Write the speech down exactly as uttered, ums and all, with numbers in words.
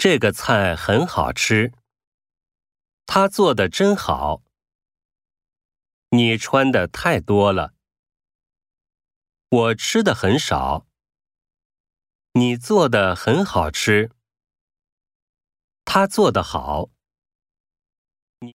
这个菜很好吃。他做的真好。你穿的太多了。我吃的很少。你做的很好吃。他做得好。